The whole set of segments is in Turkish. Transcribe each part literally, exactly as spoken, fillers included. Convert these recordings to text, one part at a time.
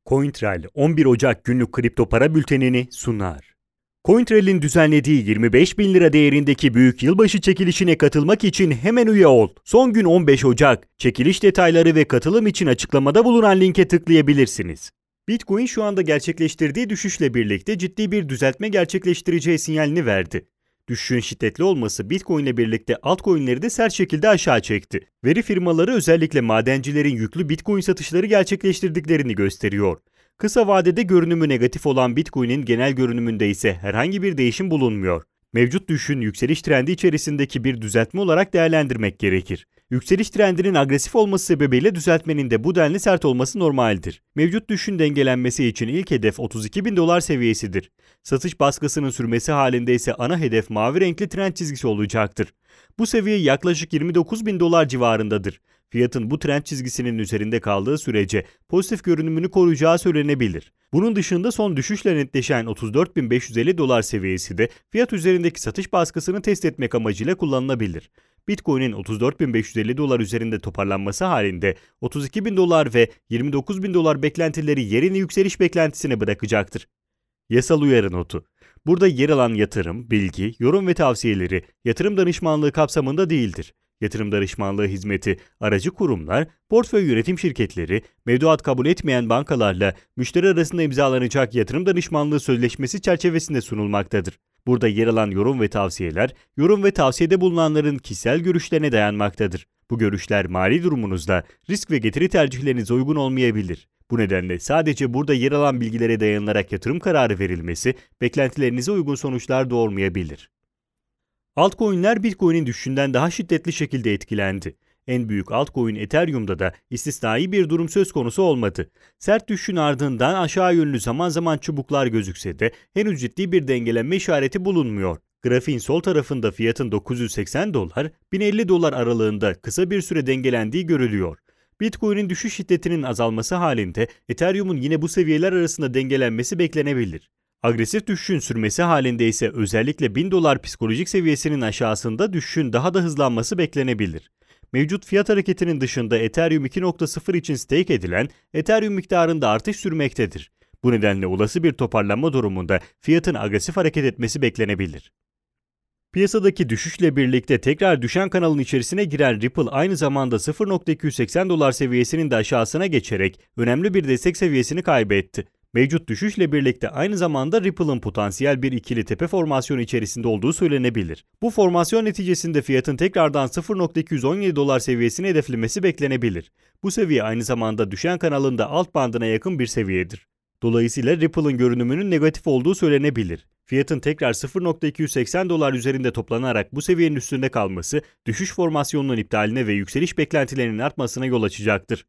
CoinTrail on bir Ocak günlük kripto para bültenini sunar. CoinTrail'in düzenlediği yirmi beş bin lira değerindeki büyük yılbaşı çekilişine katılmak için hemen üye ol. Son gün on beş Ocak. Çekiliş detayları ve katılım için açıklamada bulunan linke tıklayabilirsiniz. Bitcoin şu anda gerçekleştirdiği düşüşle birlikte ciddi bir düzeltme gerçekleştireceği sinyalini verdi. Düşüşün şiddetli olması Bitcoin ile birlikte altcoin'leri de sert şekilde aşağı çekti. Veri firmaları özellikle madencilerin yüklü Bitcoin satışları gerçekleştirdiklerini gösteriyor. Kısa vadede görünümü negatif olan Bitcoin'in genel görünümünde ise herhangi bir değişim bulunmuyor. Mevcut düşüşün yükseliş trendi içerisindeki bir düzeltme olarak değerlendirmek gerekir. Yükseliş trendinin agresif olması sebebiyle düzeltmenin de bu denli sert olması normaldir. Mevcut düşüşün dengelenmesi için ilk hedef otuz iki bin dolar seviyesidir. Satış baskısının sürmesi halinde ise ana hedef mavi renkli trend çizgisi olacaktır. Bu seviye yaklaşık yirmi dokuz bin dolar civarındadır. Fiyatın bu trend çizgisinin üzerinde kaldığı sürece pozitif görünümünü koruyacağı söylenebilir. Bunun dışında son düşüşle netleşen otuz dört bin beş yüz elli dolar seviyesi de fiyat üzerindeki satış baskısını test etmek amacıyla kullanılabilir. Bitcoin'in otuz dört bin beş yüz elli dolar üzerinde toparlanması halinde otuz iki bin dolar ve yirmi dokuz bin dolar beklentileri yerini yükseliş beklentisine bırakacaktır. Yasal uyarı notu. Burada yer alan yatırım, bilgi, yorum ve tavsiyeleri yatırım danışmanlığı kapsamında değildir. Yatırım danışmanlığı hizmeti, aracı kurumlar, portföy yönetim şirketleri, mevduat kabul etmeyen bankalarla müşteri arasında imzalanacak yatırım danışmanlığı sözleşmesi çerçevesinde sunulmaktadır. Burada yer alan yorum ve tavsiyeler, yorum ve tavsiyede bulunanların kişisel görüşlerine dayanmaktadır. Bu görüşler mali durumunuzda risk ve getiri tercihlerinize uygun olmayabilir. Bu nedenle sadece burada yer alan bilgilere dayanarak yatırım kararı verilmesi, beklentilerinize uygun sonuçlar doğurmayabilir. Altcoin'ler Bitcoin'in düşüşünden daha şiddetli şekilde etkilendi. En büyük altcoin Ethereum'da da istisnai bir durum söz konusu olmadı. Sert düşüşün ardından aşağı yönlü zaman zaman çubuklar gözükse de henüz ciddi bir dengelenme işareti bulunmuyor. Grafiğin sol tarafında fiyatın dokuz yüz seksen dolar, bin elli dolar aralığında kısa bir süre dengelendiği görülüyor. Bitcoin'in düşüş şiddetinin azalması halinde Ethereum'un yine bu seviyeler arasında dengelenmesi beklenebilir. Agresif düşüşün sürmesi halinde ise özellikle bin dolar psikolojik seviyesinin aşağısında düşüşün daha da hızlanması beklenebilir. Mevcut fiyat hareketinin dışında Ethereum iki nokta sıfır için stake edilen Ethereum miktarında artış sürmektedir. Bu nedenle olası bir toparlanma durumunda fiyatın agresif hareket etmesi beklenebilir. Piyasadaki düşüşle birlikte tekrar düşen kanalın içerisine giren Ripple aynı zamanda sıfır nokta iki yüz seksen dolar seviyesinin de aşağısına geçerek önemli bir destek seviyesini kaybetti. Mevcut düşüşle birlikte aynı zamanda Ripple'ın potansiyel bir ikili tepe formasyonu içerisinde olduğu söylenebilir. Bu formasyon neticesinde fiyatın tekrardan sıfır nokta iki yüz on yedi dolar seviyesini hedeflemesi beklenebilir. Bu seviye aynı zamanda düşen kanalın da alt bandına yakın bir seviyedir. Dolayısıyla Ripple'ın görünümünün negatif olduğu söylenebilir. Fiyatın tekrar sıfır nokta iki yüz seksen dolar üzerinde toplanarak bu seviyenin üstünde kalması, düşüş formasyonunun iptaline ve yükseliş beklentilerinin artmasına yol açacaktır.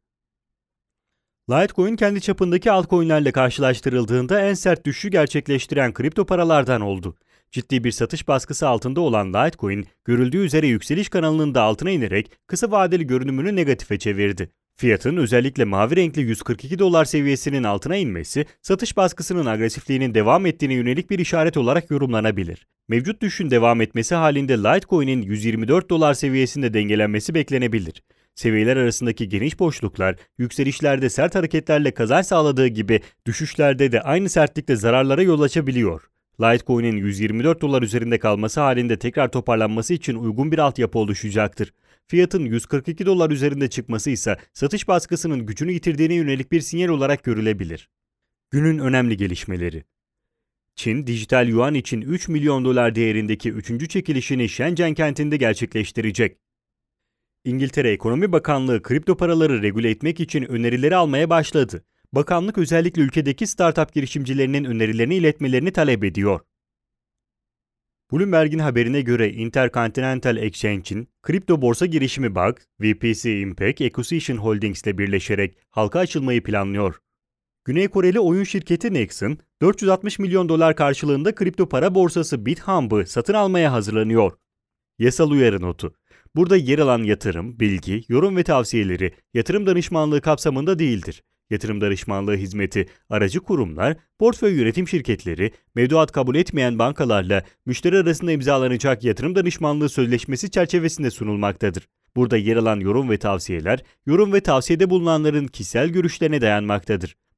Litecoin kendi çapındaki altcoin'lerle karşılaştırıldığında en sert düşüşü gerçekleştiren kripto paralardan oldu. Ciddi bir satış baskısı altında olan Litecoin, görüldüğü üzere yükseliş kanalının da altına inerek kısa vadeli görünümünü negatife çevirdi. Fiyatın özellikle mavi renkli yüz kırk iki dolar seviyesinin altına inmesi, satış baskısının agresifliğinin devam ettiğine yönelik bir işaret olarak yorumlanabilir. Mevcut düşüşün devam etmesi halinde Litecoin'in yüz yirmi dört dolar seviyesinde dengelenmesi beklenebilir. Seviyeler arasındaki geniş boşluklar, yükselişlerde sert hareketlerle kazanç sağladığı gibi düşüşlerde de aynı sertlikte zararlara yol açabiliyor. Litecoin'in yüz yirmi dört dolar üzerinde kalması halinde tekrar toparlanması için uygun bir altyapı oluşacaktır. Fiyatın yüz kırk iki dolar üzerinde çıkması ise satış baskısının gücünü yitirdiğine yönelik bir sinyal olarak görülebilir. Günün önemli gelişmeleri. Çin, dijital yuan için üç milyon dolar değerindeki üçüncü çekilişini Shenzhen kentinde gerçekleştirecek. İngiltere Ekonomi Bakanlığı kripto paraları regüle etmek için önerileri almaya başladı. Bakanlık özellikle ülkedeki startup girişimcilerinin önerilerini iletmelerini talep ediyor. Bloomberg'in haberine göre Intercontinental Exchange'in kripto borsa girişimi B A G, V P C Impact Acquisition Holdings ile birleşerek halka açılmayı planlıyor. Güney Koreli oyun şirketi Nexon, dört yüz altmış milyon dolar karşılığında kripto para borsası BitHumb'ı satın almaya hazırlanıyor. Yasal uyarı notu. Burada yer alan yatırım, bilgi, yorum ve tavsiyeleri yatırım danışmanlığı kapsamında değildir. Yatırım danışmanlığı hizmeti, aracı kurumlar, portföy yönetim şirketleri, mevduat kabul etmeyen bankalarla müşteri arasında imzalanacak yatırım danışmanlığı sözleşmesi çerçevesinde sunulmaktadır. Burada yer alan yorum ve tavsiyeler, yorum ve tavsiyede bulunanların kişisel görüşlerine dayanmaktadır.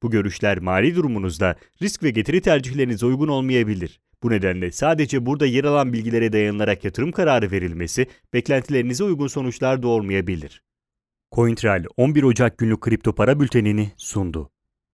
Bu görüşler mali durumunuzda risk ve getiri tercihlerinize uygun olmayabilir. Bu nedenle sadece burada yer alan bilgilere dayanılarak yatırım kararı verilmesi beklentilerinize uygun sonuçlar doğurmayabilir. CoinTrail on bir Ocak günlük kripto para bültenini sundu.